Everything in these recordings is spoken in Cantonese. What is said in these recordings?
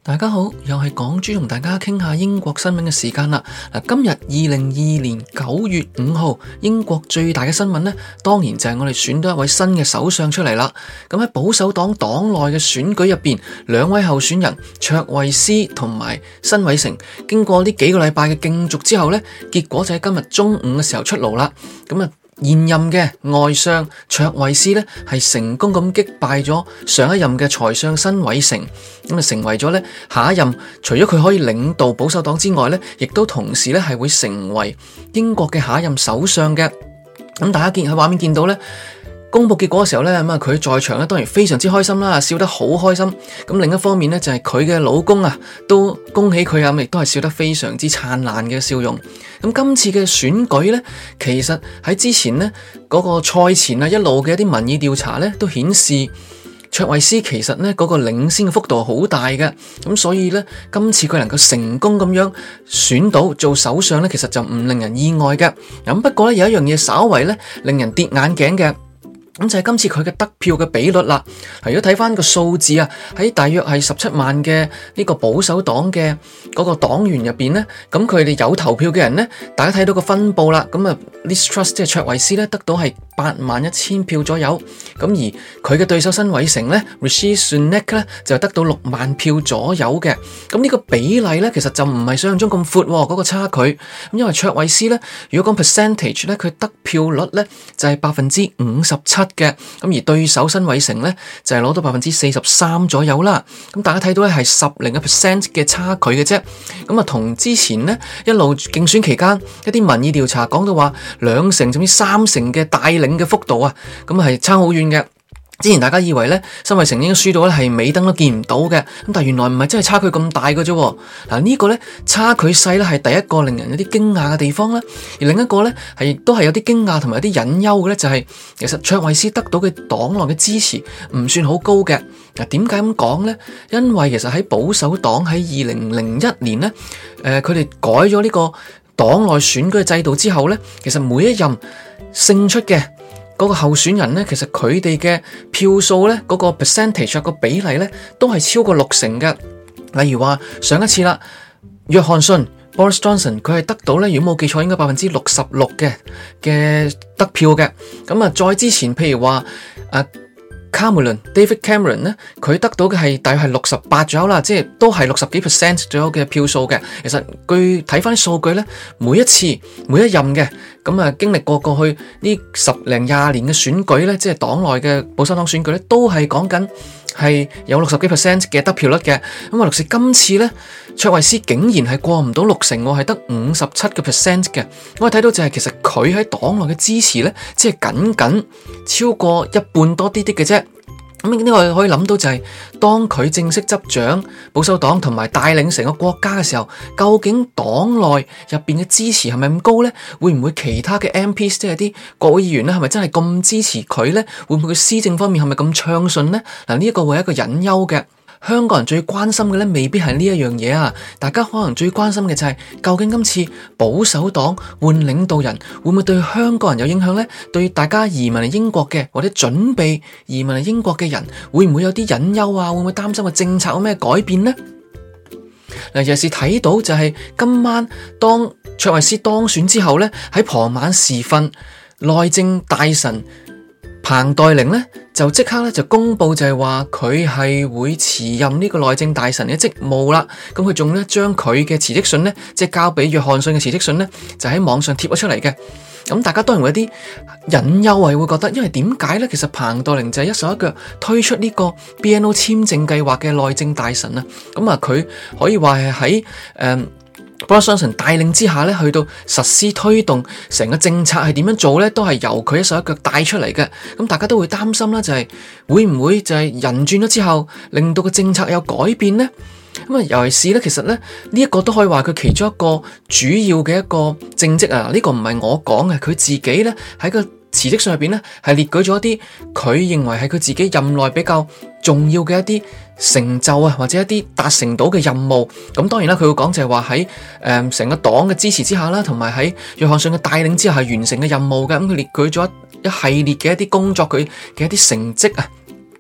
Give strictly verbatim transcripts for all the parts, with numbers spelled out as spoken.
大家好，又係港豬同大家傾下英國新聞嘅時間啦。嗱，今日二零二二年九月五號，英國最大嘅新聞呢，當然就係我哋選到一位新嘅首相出嚟啦。咁喺保守黨黨內嘅選舉入邊，兩位候選人卓慧思同埋辛偉誠，經過呢幾個禮拜嘅競逐之後呢，結果就喺今日中午嘅時候出爐啦。咁啊，現任嘅外相卓慧思呢，係成功咁擊敗咗上一任嘅財相辛偉誠，咁啊成為咗呢下一任，除咗佢可以領導保守黨之外呢，亦都同時呢係會成為英國嘅下一任首相嘅。咁大家見喺畫面見到呢，公布結果嘅時候呢，咁啊佢在場呢當然非常之開心啦，笑得好開心。咁另一方面呢，就係佢嘅老公啊，都恭喜佢啊，亦都係笑得非常之燦爛嘅笑容。咁今次嘅選舉呢，其實喺之前呢嗰個賽前啊一路嘅一啲民意調查呢，都顯示卓慧思其實呢嗰個領先嘅幅度好大嘅。咁所以呢，今次佢能夠成功咁樣選到做首相呢，其實就唔令人意外嘅。咁不過呢，有一樣嘢稍為呢令人跌眼鏡嘅。咁就係今次佢嘅得票嘅比率啦。如果睇翻個數字啊，喺大約係十七萬嘅呢個保守黨嘅嗰個黨員入邊呢，咁佢哋有投票嘅人呢，大家睇到個分佈啦。咁啊，Liz Truss 即係卓慧思呢，得到係八萬一千票左右。咁而佢嘅對手辛偉誠呢 Rishi Sunak 呢，就得到六萬票左右嘅。咁呢個比例呢，其實就唔係想象中咁闊嗰個差距。咁因為卓慧思呢，如果講 percentage 呢，佢得票率呢，就係百分之五十七。嘅咁而對手辛偉誠咧就係攞到百分之四十三左右啦。咁大家睇到咧係十零個 percent 嘅差距嘅啫。咁啊同之前咧一路競選期間一啲民意調查講到話兩成甚至三成嘅帶領嘅幅度啊，咁係差好遠嘅。之前大家以為咧辛偉誠應該輸到咧係尾燈都見唔到嘅，咁但係原來唔係真係差距咁大嘅啫。嗱呢個咧差距細咧係第一個令人有啲驚訝嘅地方啦，而另一個咧係亦都係有啲驚訝同埋有啲隱憂嘅咧，就係其實卓慧思得到嘅黨內嘅支持唔算好高嘅。嗱點解咁講咧？因為其實喺保守黨喺二零零一年咧，誒佢哋改咗呢個黨內選舉嘅制度之後咧，其實每一任勝出嘅嗰個候選人呢，其實佢哋嘅票數呢，嗰個 percentage 個比例呢，都係超過六成嘅。例如話上一次啦，約翰遜 Boris Johnson 佢係得到呢，如果冇記錯應該百分之六十六嘅嘅得票嘅。咁啊，再之前譬如話啊Cameron David Cameron 呢，佢得到嘅係大約係六十八左右啦，即係都係六十幾 percent 左右嘅票數嘅。其實據睇翻啲數據呢，每一次每一任嘅咁啊，經歷過過去呢十零廿年嘅選舉呢，即係黨內嘅保守黨選舉呢，都係講緊係有六十幾 percent 嘅得票率嘅。咁啊，六是今次呢，卓慧思竟然係過唔到六成，係得五十七個 percent 嘅。我哋睇到就係其實佢喺黨內嘅支持呢，只係僅僅超過一半多啲啲嘅啫。咁呢個可以諗到就係當佢正式執掌保守黨同埋帶領成個國家嘅時候，究竟黨內入邊嘅支持係咪咁高呢？會唔會其他嘅 M P 即係啲國會議員咧，係咪真係咁支持佢呢？會唔會佢施政方面係咪咁暢順呢？嗱，呢一個會係一個隱憂嘅。香港人最關心嘅咧，未必係呢一樣嘢啊！大家可能最關心嘅就係、是、究竟今次保守黨換領導人會唔會對香港人有影響呢？對大家移民嚟英國嘅或者準備移民嚟英國嘅人，會唔會有啲隱憂啊？會唔會擔心個政策有咩改變呢？嗱，尤其是睇到就係今晚當卓慧思當選之後呢，喺傍晚時分，內政大臣彭黛玲呢，就即刻咧就公布就係話佢係會辭任呢個內政大臣嘅職務啦。咁佢仲咧將佢嘅辭職信呢，即係交俾約翰遜嘅辭職信呢，就喺網上貼咗出嚟嘅。咁大家當然會有啲隱憂係會覺得，因為點解呢？其實彭黛玲就係一手一腳推出呢個 B N O 簽證計劃嘅內政大臣啊。咁啊，佢可以話係喺誒Boris Johnson帶領之下咧，去到實施推動成個政策係點樣做咧，都係由佢一手一腳帶出嚟嘅。咁大家都會擔心啦，就係會唔會就係人轉咗之後，令到個政策有改變呢？咁啊，尤其是咧，其實咧呢一個都可以話佢其中一個主要嘅一個政績啊。呢個唔係我講嘅，佢自己咧喺個辭職信入邊咧係列舉咗一啲佢認為係佢自己任內比較重要嘅一啲成就啊，或者一啲達成到嘅任務。咁當然啦，佢會講就係話喺誒成個黨嘅支持之下啦，同埋喺約翰遜嘅帶領之下係完成嘅任務嘅。咁佢列舉咗一系列嘅一啲工作，佢嘅一啲成績啊。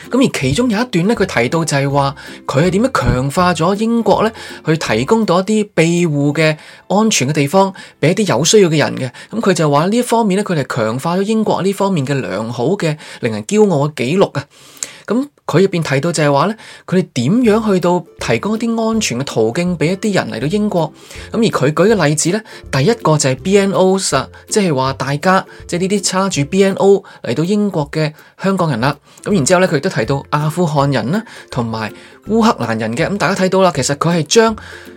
咁而其中有一段咧，佢提到就係話佢係點樣強化咗英國咧，去提供到一啲庇護嘅安全嘅地方俾一啲有需要嘅人嘅。咁佢就話呢一方面咧，佢哋強化咗英國呢方面嘅良好嘅令人驕傲嘅記錄啊。咁佢入邊提到就係話咧，佢哋點樣去到提供一啲安全嘅途徑俾一啲人嚟到英國。咁而佢舉嘅例子咧，第一個就係 B N O 啊，即係話大家即係呢啲揸住 B N O 嚟到英國嘅香港人啦。咁然之後咧，佢亦都提到阿富汗人啦，同埋烏克蘭人嘅。咁大家睇到啦，其實佢係將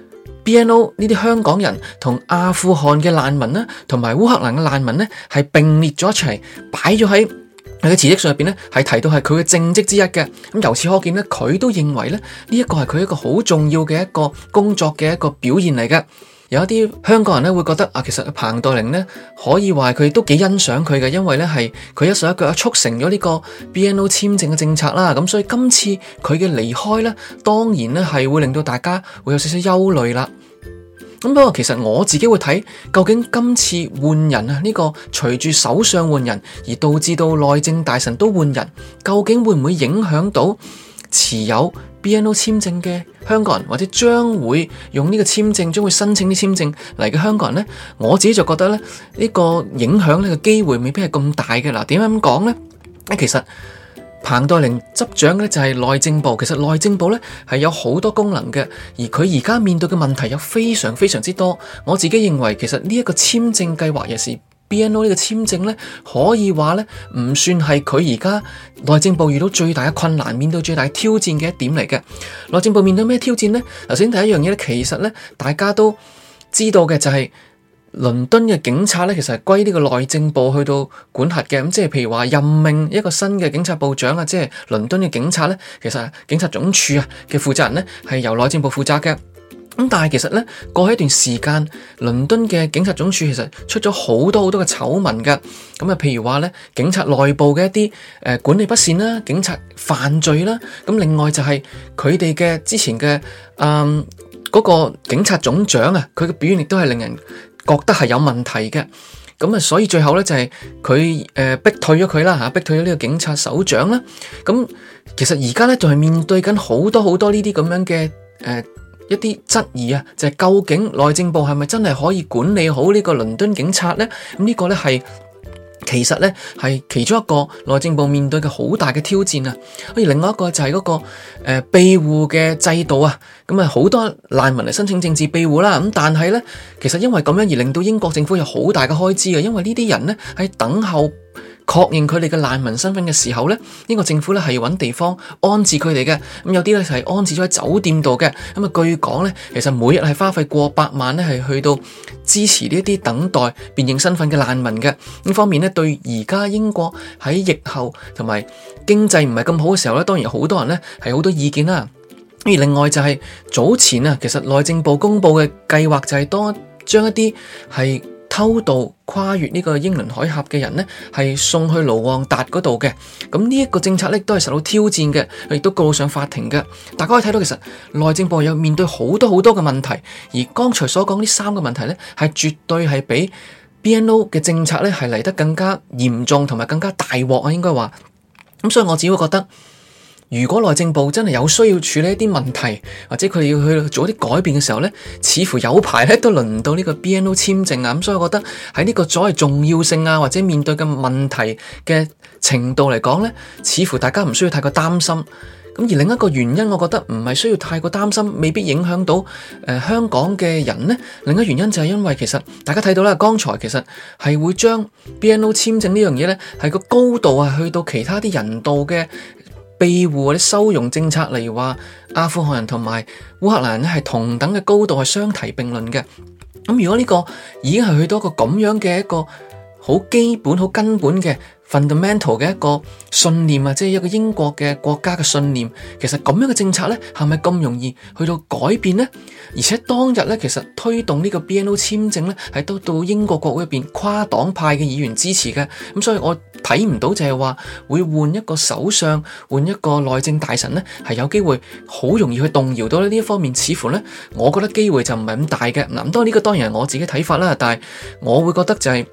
B N O 呢啲香港人同阿富汗嘅難民啦，同埋烏克蘭嘅難民咧，係並列咗一齊擺咗喺佢嘅辭職信入邊咧，係提到係佢嘅政績之一嘅。咁由此可見咧，佢都認為咧，呢一個係佢一個好重要嘅一個工作嘅一個表現嚟嘅。有一啲香港人咧會覺得啊，其實彭黛玲咧可以話佢都幾欣賞佢嘅，因為咧係佢一手一腳促成咗呢個 B N O 簽證嘅政策啦。咁所以今次佢嘅離開咧，當然咧係會令到大家會有少少憂慮啦。咁不過其實我自己會睇，究竟今次換人啊，呢個隨住首相換人而導致到內政大臣都換人，究竟會唔會影響到持有 B N O 簽證嘅香港人，或者將會用呢個簽證，將會申請啲簽證嚟嘅香港人呢？我自己就覺得咧，呢個影響呢個機會未必係咁大嘅。嗱，點解咁講呢？其實彭黛玲執掌咧就係內政部，其實內政部咧係有好多功能嘅，而佢而家面對嘅問題有非常非常之多。我自己認為其實呢一個簽證計劃，尤其是 B N O 呢個簽證咧，可以話咧唔算係佢而家內政部遇到最大嘅困難，面對最大嘅挑戰嘅一點嚟嘅。內政部面對咩挑戰呢？頭先第一樣嘢咧，其實咧大家都知道嘅就係、是。倫敦嘅警察咧，其實係歸呢個內政部去到管轄嘅。咁即係譬如話任命一個新嘅警察部長啊，即係倫敦嘅警察咧，其實警察總署啊嘅負責人咧係由內政部負責嘅。咁但係其實咧過去一段時間，倫敦嘅警察總署其實出咗好多好多嘅醜聞㗎。咁啊，譬如話咧，警察內部嘅一啲誒管理不善啦，警察犯罪啦。咁另外就係佢哋嘅之前嘅嗯嗰個警察總長啊，佢嘅表現亦都係令人覺得係有問題嘅。咁啊，所以最後咧就係佢誒逼退咗佢啦嚇，逼退咗呢個警察首長啦。咁其實而家咧仲係面對緊好多好多呢啲咁樣嘅誒、呃、一啲質疑啊，就係、是、究竟內政部係咪真係可以管理好呢個倫敦警察咧？咁呢個咧係。其實咧係其中一個內政部面對嘅好大嘅挑戰啊，而另外一個就係嗰、那個誒、呃、庇護嘅制度啊，咁啊好多難民嚟申請政治庇護啦，咁但係咧其實因為咁樣而令到英國政府有好大嘅開支啊，因為呢啲人咧喺等候確認佢哋嘅難民身份嘅時候咧，英國政府咧係要揾地方安置佢哋嘅，咁有啲咧就係安置咗喺酒店度嘅，咁啊據講咧，其實每日係花費過百萬咧係去到支持呢一啲等待辨認身份嘅難民嘅。呢方面咧對而家英國喺疫後同埋經濟唔係咁好嘅時候咧，當然好多人咧係好多意見啦。而另外就係早前啊，其實內政部公布嘅計劃就係多將一啲係偷渡跨越呢個英倫海峽嘅人呢，係送去盧旺達嗰度嘅。咁呢一個政策呢，都係受到挑戰嘅，亦都告上法庭嘅。大家可以睇到，其實內政部有面對好多好多嘅問題，而剛才所講呢三個問題呢，係絕對係比 B N O 嘅政策呢係嚟得更加嚴重同埋更加大鑊啊，應該話。咁所以我只會覺得，如果內政部真係有需要處理一啲問題，或者佢哋要去做一啲改變嘅時候呢，似乎有排咧都輪唔到呢個 B N O 簽證啊。咁所以我覺得喺呢個所謂重要性啊，或者面對嘅問題嘅程度嚟講呢，似乎大家唔需要太過擔心。咁而另一個原因，我覺得唔係需要太過擔心，未必影響到誒、呃、香港嘅人呢。另一個原因就係因為其實大家睇到啦，剛才其實係會將 B N O 簽證呢樣嘢呢，係個高度啊去到其他啲人道嘅庇護或者收容政策，例如話阿富汗人同埋烏克蘭人係同等嘅高度係相提並論嘅。咁如果呢個已經係去到一個咁樣嘅一個好基本、好根本嘅 fundamental 嘅一個信念啊，即係一個英國嘅國家嘅信念，其實咁樣嘅政策咧，係咪咁容易去到改變呢？而且當日咧，其實推動呢個 B N O 簽證咧，係得到英國國會入邊跨黨派嘅議員支持嘅。咁所以我睇唔到就係話會換一個首相，換一個內政大臣咧，係有機會好容易去動搖到呢一方面。似乎咧，我覺得機會就唔係咁大嘅。嗱，當然呢個當然係我自己睇法啦，但係我會覺得就係、是。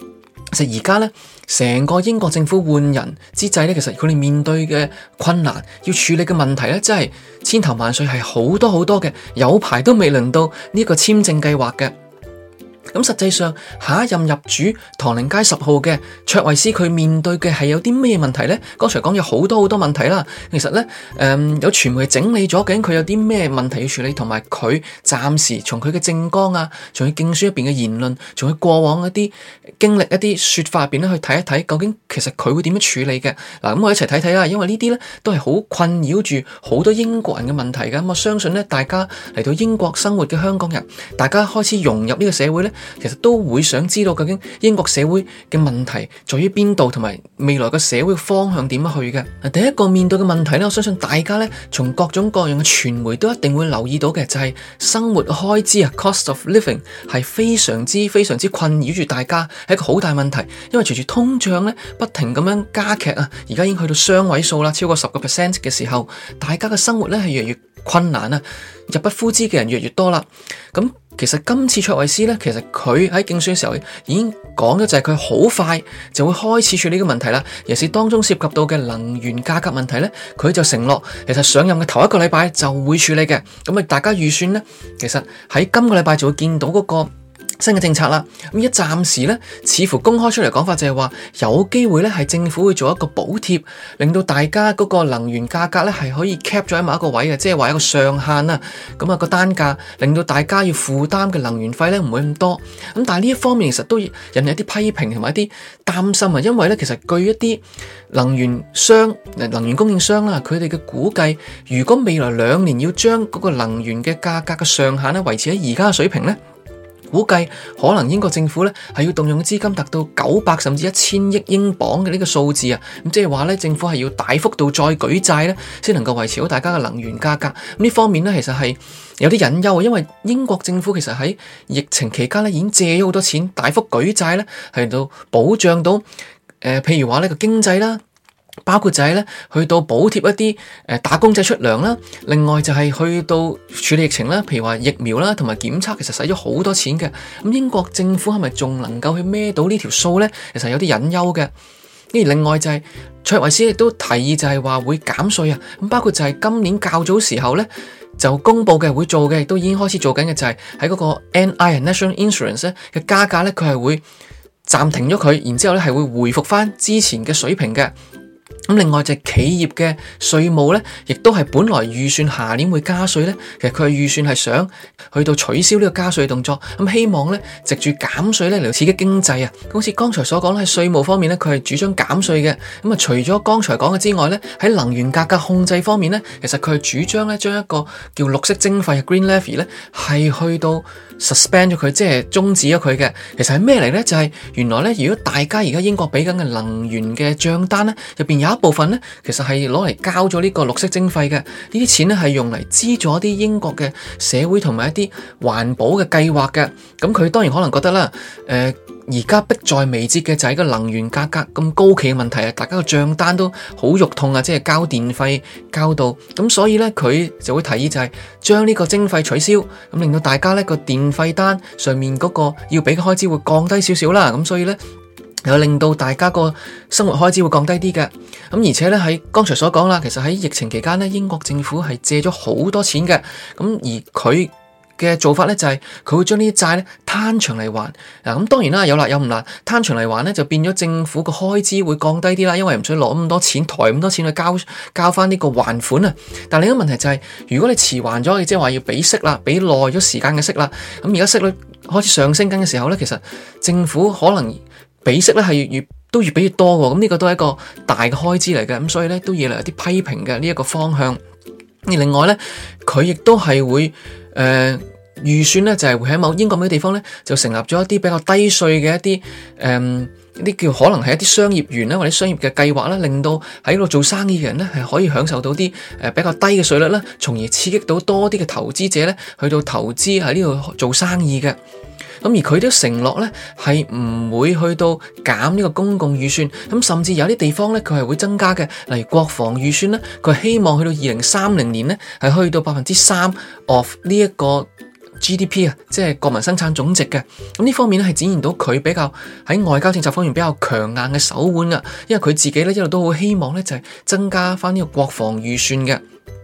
其實而家咧，成個英國政府換人之際咧，其實佢哋面對嘅困難，要處理嘅問題咧，真係千頭萬緒，係好多好多嘅，有排都未輪到呢個簽證計劃嘅。咁實際上，下一任入主唐寧街十號嘅卓慧思，佢面對嘅係有啲咩問題呢？剛才講有好多好多問題啦。其實呢，誒、嗯、有傳媒整理咗，究竟佢有啲咩問題要處理，同埋佢暫時從佢嘅政綱啊，從佢競選入邊嘅言論，從佢過往一啲經歷、一啲說法入邊咧去睇一睇，究竟其實佢會點樣處理嘅？嗱，咁我一齊睇睇啦。因為呢啲呢都係好困擾住好多英國人嘅問題嘅。咁我相信呢，大家嚟到英國生活嘅香港人，大家開始融入呢個社會呢，其實都會想知道究竟英國社會嘅問題在於邊度，同埋未來個社會方向點樣去嘅。第一個面對嘅問題呢，我相信大家呢，從各種各樣嘅傳媒都一定會留意到嘅，就係生活開支啊 ，cost of living 係非常之非常之困擾住大家，係一個好大問題。因為隨住通脹呢不停咁樣加劇啊，而家已經去到雙位數啦，超過十個 percent 嘅時候，大家嘅生活呢係越嚟越困難啊，入不敷支嘅人越嚟越多啦。咁其實今次卓慧思咧，其實佢喺競選嘅時候已經講咗，就係佢好快就會開始處理呢個問題啦。尤其是當中涉及到嘅能源價格問題咧，佢就承諾其實上任嘅頭一個禮拜就會處理嘅。咁啊，大家預算咧，其實喺今個禮拜就會見到嗰個新嘅政策啦。咁一暫時咧，似乎公開出嚟講法就係話有機會咧，係政府會做一個補貼，令到大家嗰個能源價格咧係可以 cap 咗喺某一個位嘅，即係話一個上限啊。咁啊個單價令到大家要負擔嘅能源費咧唔會咁多。咁但係呢一方面其實都引起一啲批評同埋一啲擔心啊，因為咧其實據一啲能源商、能源供應商啦，佢哋嘅估計，如果未來兩年要將嗰個能源嘅價格嘅上限咧維持喺而家嘅水平咧，估計可能英國政府咧係要動用嘅資金達到九百甚至一千億英鎊嘅呢個數字啊，咁即係話咧政府係要大幅度再舉債咧，先能夠維持好大家嘅能源價格。咁呢方面咧其實係有啲隱憂啊，因為英國政府其實喺疫情期間咧已經借咗好多錢，大幅舉債咧係到保障到誒、呃，譬如話呢個經濟啦。包括就係咧，去到補貼一啲誒打工仔出糧啦，另外就係去到處理疫情啦，譬如話疫苗啦，同埋檢測，其實使咗好多錢嘅。咁英國政府係咪仲能夠去孭到呢條數咧？其實有啲隱憂嘅。而另外就係卓慧思亦都提議就係話會減稅啊。咁包括就係今年較早時候咧就公布嘅會做嘅，亦都已經開始做緊嘅，就係喺嗰個 N I National Insurance 咧嘅加價咧，佢係會暫停咗佢，然之後咧係會回復翻之前嘅水平嘅。咁另外就係企業嘅稅務咧，亦都係本來預算下年會加稅咧，其實佢係預算係想去到取消呢個加稅動作，咁希望咧藉住減稅咧嚟刺激經濟啊。好似剛才所講喺稅務方面咧，佢係主張減稅嘅。咁啊，除咗剛才講嘅之外咧，喺能源價格控制方面咧，其實佢係主張咧將一個叫綠色徵費 Green Levy 咧係去到 suspend 咗佢，即係終止咗佢嘅。其實係咩嚟咧？就係、是、原來咧，如果大家而家英國俾緊嘅能源嘅賬單咧，入邊有一部分咧，其實係攞嚟交咗呢個綠色徵費嘅。呢啲錢咧係用嚟資助一啲英國嘅社會同埋一啲環保嘅計劃嘅。咁佢當然可能覺得啦，誒而家迫在眉睫嘅就係個能源價格咁高企嘅問題啊，大家個賬單都好肉痛啊，即係交電費交到咁，所以咧佢就會提議就係將呢個徵費取消，咁令到大家咧個電費單上面嗰個要俾嘅開支會降低少少啦。咁所以咧又令到大家個生活開支會降低啲嘅。咁而且咧喺剛才所講啦，其實喺疫情期間咧，英國政府係借咗好多錢嘅。咁而佢嘅做法咧就係佢會將呢啲債咧攤長嚟還。嗱，咁當然啦，有辣有唔辣，攤長嚟還咧就變咗政府個開支會降低啲啦，因為唔使攞咁多錢抬咁多錢去交交翻呢個還款啊。但另一個問題就係、是，如果你遲還咗，即係話要俾息啦，俾耐咗時間嘅息啦，咁而家息率開始上升緊嘅時候咧，其實政府可能俾息咧係越越都越俾越多喎。咁呢個都係一個大嘅開支嚟嘅，咁所以咧都惹嚟有啲批評嘅呢一個方向。而另外咧，佢亦都係會誒、呃、預算咧，就係、是、會喺某英國某啲地方咧，就成立咗一啲比較低稅嘅一啲誒一啲叫可能係一啲商業園啦，或者商業嘅計劃啦，令到喺度做生意嘅人咧係可以享受到啲誒比較低嘅稅率啦，從而刺激到多啲嘅投資者咧去到投資喺呢度做生意嘅。咁而佢都承諾咧係唔會去到減呢個公共預算，咁甚至有啲地方咧佢係會增加嘅，例如國防預算咧，佢希望去到二零三零年咧係去到百分之三 of 呢一個 G D P 啊，即係國民生產總值嘅。咁呢方面咧係展現到佢比較喺外交政策方面比較強硬嘅手腕啊，因為佢自己咧一路都好希望咧就係增加翻呢個國防預算嘅。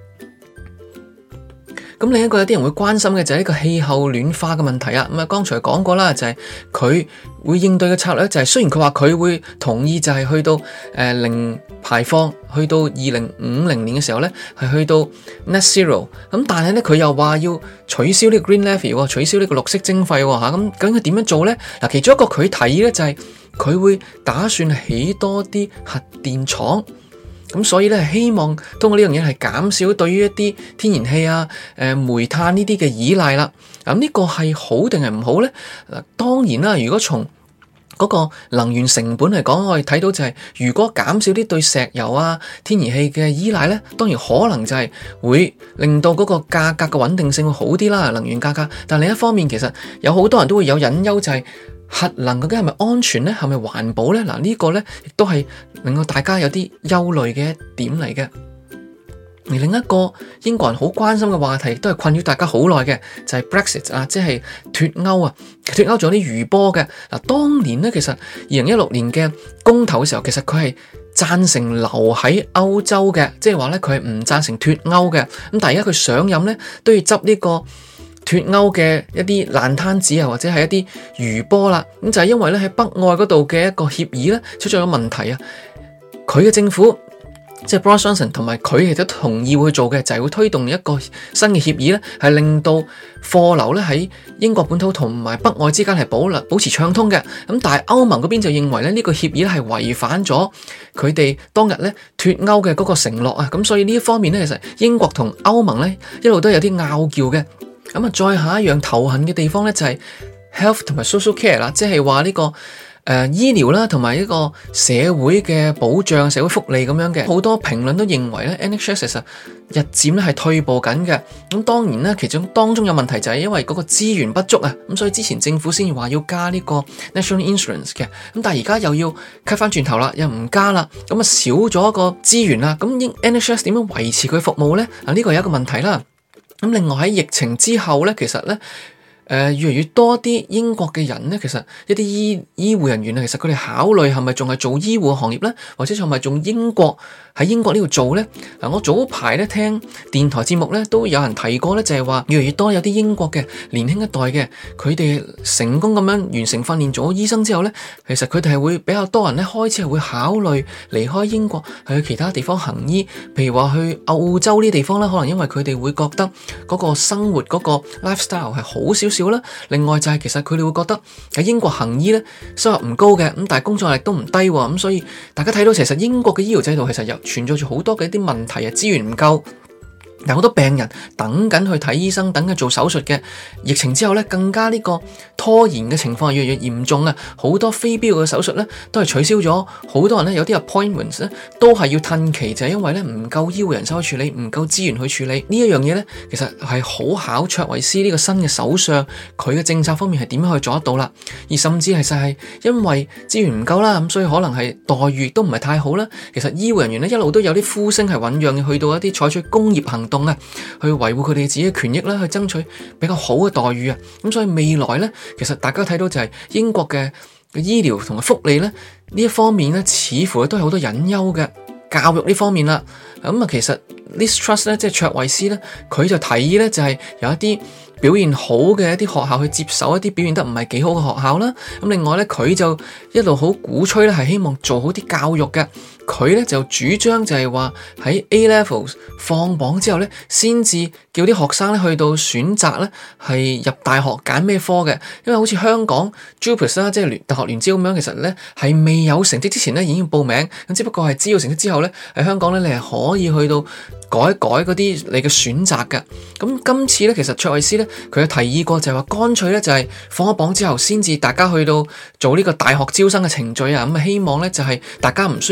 咁另一個有啲人會關心嘅就係呢個氣候暖化嘅問題啊。咁啊，剛才講過啦，就係佢會應對嘅策略就係，雖然佢話佢會同意就係去到誒零排放，去到二零五零年嘅時候咧係去到 net zero，咁但係咧佢又話要取消呢個 green levy，取消呢個綠色徵費吓。咁究竟佢點樣做咧？嗱，其中一個佢提議咧就係佢會打算起多啲核電廠。咁所以咧，希望通過呢樣嘢係減少對於一啲天然氣啊、誒煤炭呢啲嘅依賴啦。咁呢個係好定係唔好咧？嗱，當然啦，如果從嗰個能源成本嚟講，我哋睇到就係，如果減少啲對石油啊、天然氣嘅依賴咧，當然可能就係會令到嗰個價格嘅穩定性會好啲啦，能源價格。但另一方面，其實有好多人都會有隱憂，就係核能究竟係咪安全咧？係咪環保咧？嗱，呢個咧亦都係令到大家有啲憂慮嘅一點嚟嘅。而另一個英國人好關心嘅話題，都係困擾大家好耐嘅，就係 Brexit 啊，即係脫歐啊。脫歐仲有啲餘波嘅。嗱，當年咧，其實二零一六年嘅公投嘅時候，其實佢係贊成留喺歐洲嘅，即係話咧佢係唔贊成脫歐嘅。咁但係而家佢上任咧，都要執呢個脫歐嘅一啲爛攤子啊，或者係一啲餘波啦。咁就係因為咧喺北愛嗰度嘅一個協議咧出咗個問題啊，佢嘅政府。即係 Boris Johnson 同埋佢亦都同意會做嘅，就係會推動一個新嘅協議咧，係令到貨流咧喺英國本土同埋北愛之間係保保持暢通嘅。咁但係歐盟嗰邊就認為咧，呢個協議咧係違反咗佢哋當日咧脫歐嘅嗰個承諾啊。咁所以呢一方面咧，其實英國同歐盟咧一路都有啲拗撬嘅。咁啊，再下一樣頭痕嘅地方咧就係 health 同埋 social care 啦，即係話呢個。誒、呃，醫療啦，同埋一個社會嘅保障、社會福利咁樣嘅，好多評論都認為咧 N H S 其實日漸咧係退步緊嘅。咁當然啦，其中當中有問題就係因為嗰個資源不足啊，咁所以之前政府先至話要加呢個 National Insurance 嘅，咁但係而家又要 cut 翻轉頭啦，又唔加啦，咁啊少咗一個資源啦，咁 N H S 點樣維持佢服務咧？啊，呢個有一個問題啦。咁另外喺疫情之後咧，其實咧。誒、呃，越嚟越多啲英國嘅人咧，其實一啲醫醫護人員啊，其實佢哋考慮係咪仲係做醫護行業咧，或者係咪仲英國喺英國呢度做咧？嗱、呃，我早排咧聽電台節目咧，都有人提過咧，就係話越嚟越多有啲英國嘅年輕一代嘅，佢哋成功咁樣完成訓練做醫生之後咧，其實佢哋係會比較多人咧開始係會考慮離開英國，係去其他地方行醫，譬如話去澳洲呢啲地方咧，可能因為佢哋會覺得嗰個生活嗰個 lifestyle 係好少少啦。另外就係其實佢哋會覺得喺英國行醫咧收入唔高嘅，咁但係工作壓力都唔低，咁所以大家睇到其實英國嘅醫療制度其實又存在住好多嘅一啲問題啊，資源唔夠。有好多病人等緊去睇醫生，等緊做手術嘅。疫情之後咧，更加呢個拖延嘅情況越嚟越嚴重啊！好多非必要嘅手術咧都係取消咗，好多人咧有啲 appointments 咧都係要褪期，就係因為咧唔夠醫護人手去處理，唔夠資源去處理呢一樣嘢咧，其實係好考卓維斯呢個新嘅首相佢嘅政策方面係點樣去做得到啦。而甚至其實係因為資源唔夠啦，咁所以可能係待遇都唔係太好啦。其實醫護人員咧一路都有啲呼聲係醞釀去到一啲採取工業行動啊，去維護佢哋自己嘅權益啦，去爭取比較好嘅待遇啊。咁所以未來咧，其實大家睇到就係英國嘅醫療同埋福利咧呢一方面咧，似乎都係好多隱憂嘅。教育呢方面啦，咁啊，其實 Liz Truss 咧，即係卓慧思咧，佢就提議咧，就係有一啲表現好嘅一啲學校去接手一啲表現得唔係幾好嘅學校啦。咁另外咧，佢就一路好鼓吹咧，係希望做好啲教育嘅。佢咧就主張就係話喺 A Levels 放榜之後咧，先至叫啲學生咧去到選擇咧係入大學揀咩科嘅。因為好似香港 JUPAS 啦，即係聯大學聯招咁樣，其實咧係未有成績之前咧已經要報名，咁只不過係知道成績之後咧喺香港咧你係可以去到改一改嗰啲你嘅選擇嘅。咁今次咧其實卓慧思咧佢有提議過就係話乾脆咧就係放咗榜之後先至大家去到做呢個大學招生嘅程序啊。咁啊希望咧就係大家唔需要咧再用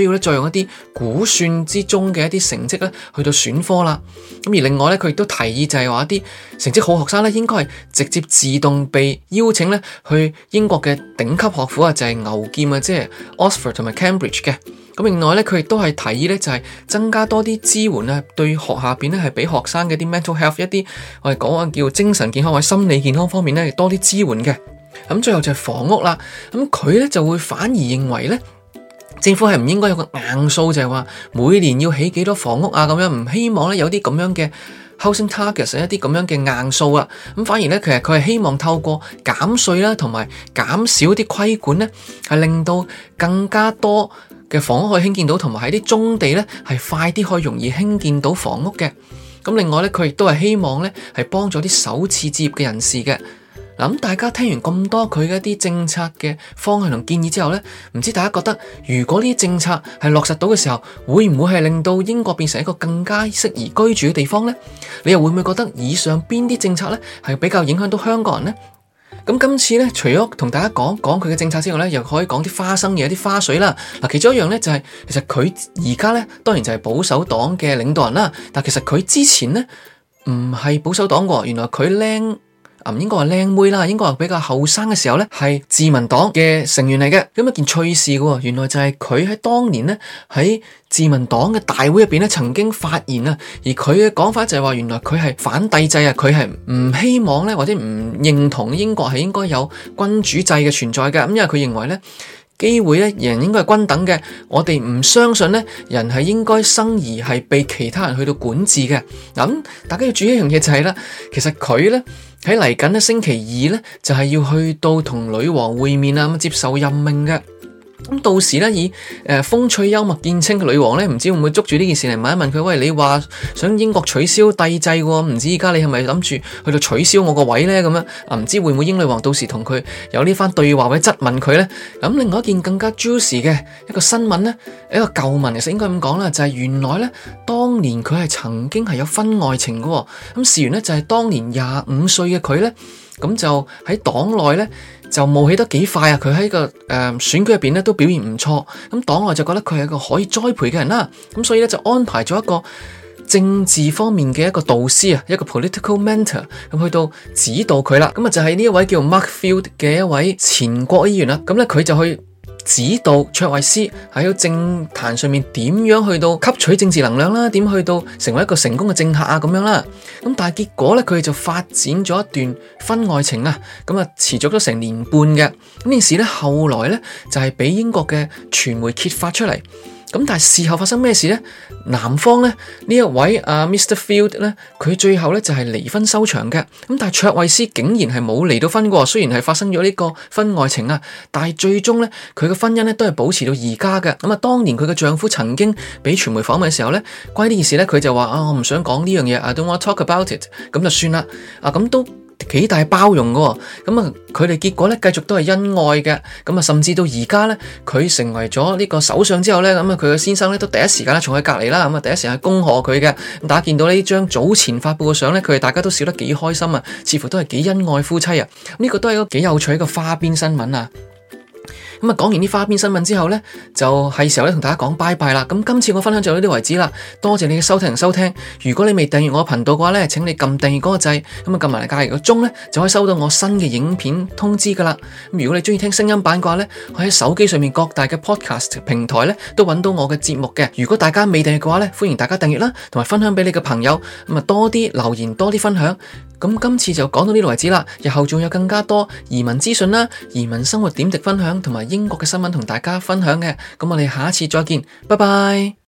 用一啲估算之中嘅一啲成績咧去到選科啦。咁而另外咧，佢亦都提議就係話一啲成績好學生咧，應該係直接自動被邀請咧去英國嘅頂級學府啊，就係牛劍啊，即係 Oxford 同埋 Cambridge 嘅。咁另外咧，佢亦都係提議咧，就係增加多啲支援啊，對學校邊咧係俾學生嘅啲 mental health 一啲我哋講啊叫精神健康或者心理健康方面咧多啲支援嘅。咁最後就係房屋啦。咁佢咧就會反而認為咧，政府係唔應該有個硬數，就係話每年要起幾多房屋啊咁樣，唔希望咧有啲咁樣嘅 housing targets 一啲咁樣嘅硬數啊。咁反而咧，其實佢係希望透過減稅啦，同埋減少啲規管咧，係令到更加多嘅房屋可以興建到，同埋喺啲棕地咧係快啲可以容易興建到房屋嘅。咁另外咧，佢亦都係希望咧係幫助啲首次置業嘅人士嘅。嗱，咁大家聽完咁多佢嘅一啲政策嘅方向同建議之後咧，唔知大家覺得如果呢啲政策係落實到嘅時候，會唔會係令到英國變成一個更加適宜居住嘅地方咧？你又會唔會覺得以上邊啲政策咧係比較影響到香港人咧？咁今次咧，除咗同大家講講佢嘅政策之外咧，又可以講啲花生嘢、啲花絮啦。嗱，其中一樣咧就係、是，其實佢而家咧當然就係保守黨嘅領導人啦。但其實佢之前咧唔係保守黨喎，原來佢僆唔應該話僆妹啦，應該話比較後生嘅時候咧係自民黨嘅成員嚟嘅。咁一件趣事嘅，原來就係佢喺當年咧喺自民黨嘅大會入邊咧曾經發言啊，而佢嘅講法就係話，原來佢係反帝制啊，佢係唔希望咧或者唔認同英國係應該有君主制嘅存在嘅。咁因為佢認為咧機會咧人應該係均等嘅，我哋唔相信咧人係應該生而係被其他人去到管治嘅。咁大家要注意一樣嘢就係啦，其實佢咧喺嚟緊咧星期二咧就係要去到同女王會面啊，咁接受任命嘅。咁到時咧以誒、呃、風趣幽默見稱嘅女王咧，唔知會唔會捉住呢件事嚟問一問佢？喂，你話想英國取消帝制喎，唔知而家你係咪諗住去到取消我個位咧？咁樣啊，唔知會唔會英女王到時同佢有呢番對話或者質問佢咧？咁另外一件更加 juicy 嘅一個新聞咧，一個舊聞其實應該咁講啦，就係、是、原來咧當年佢係曾經係有婚外情嘅。咁事緣咧就係、是、當年廿五歲嘅佢咧，咁就喺黨內咧。就冒起得幾快啊！佢喺個誒、呃、選舉入邊咧都表現唔錯，咁黨內就覺得佢係一個可以栽培嘅人啦，咁所以咧就安排咗一個政治方面嘅一個導師啊，一個 political mentor 咁去到指導佢啦。咁啊就係呢一位叫 Mark Field 嘅一位前國會議員啦。咁咧佢就去指導卓慧思喺個政壇上面點樣去到吸取政治能量啦，點去到成為一個成功嘅政客啊咁樣啦。咁但係結果咧，佢哋就發展咗一段婚外情啊，咁啊持續咗成年半嘅。咁呢件事咧後來咧就係俾英國嘅傳媒揭發出嚟。咁但係事後發生咩事咧？男方咧呢一位啊 Mister Field 咧，佢最後咧就係離婚收場嘅。咁但係卓慧思竟然係冇離到婚嘅，雖然係發生咗呢個婚外情啊，但係最終咧佢嘅婚姻咧都係保持到而家嘅。咁啊，當年佢嘅丈夫曾經俾傳媒訪問嘅時候咧，關於呢件事咧，佢就話啊，我唔想講呢樣嘢，I don't want to talk about it，咁就算啦。啊，咁都幾大包容嘅，咁啊佢哋結果咧繼續都係恩愛嘅，咁啊甚至到而家咧佢成為咗呢個首相之後咧，咁啊佢嘅先生咧都第一時間咧坐喺隔籬啦，咁啊第一時間恭賀佢嘅。咁大家見到呢張早前發布嘅相咧，佢哋大家都笑得幾開心啊，似乎都係幾恩愛夫妻啊。呢個都係一個幾有趣嘅花邊新聞啊。咁啊，講完啲花邊新聞之後咧，就係時候咧同大家講拜拜啦。咁今次我分享就到呢啲為止啦。多謝你嘅收聽同收聽。如果你未訂閱我頻道嘅話咧，請你撳訂閱嗰個掣，咁啊撳埋嚟隔籬個鐘咧，就可以收到我新嘅影片通知噶啦。咁如果你中意聽聲音版嘅話咧，可以喺手機上面各大嘅 podcast 平台咧都揾到我嘅節目嘅。如果大家未訂閱嘅話咧，歡迎大家訂閱啦，同埋分享俾你嘅朋友。咁啊多啲留言，多啲分享。咁今次就講到呢度為止啦。日後仲有更加多移民資訊啦、移民生活點滴分享同埋英國嘅新聞同大家分享嘅。咁我哋下一次再見，拜拜。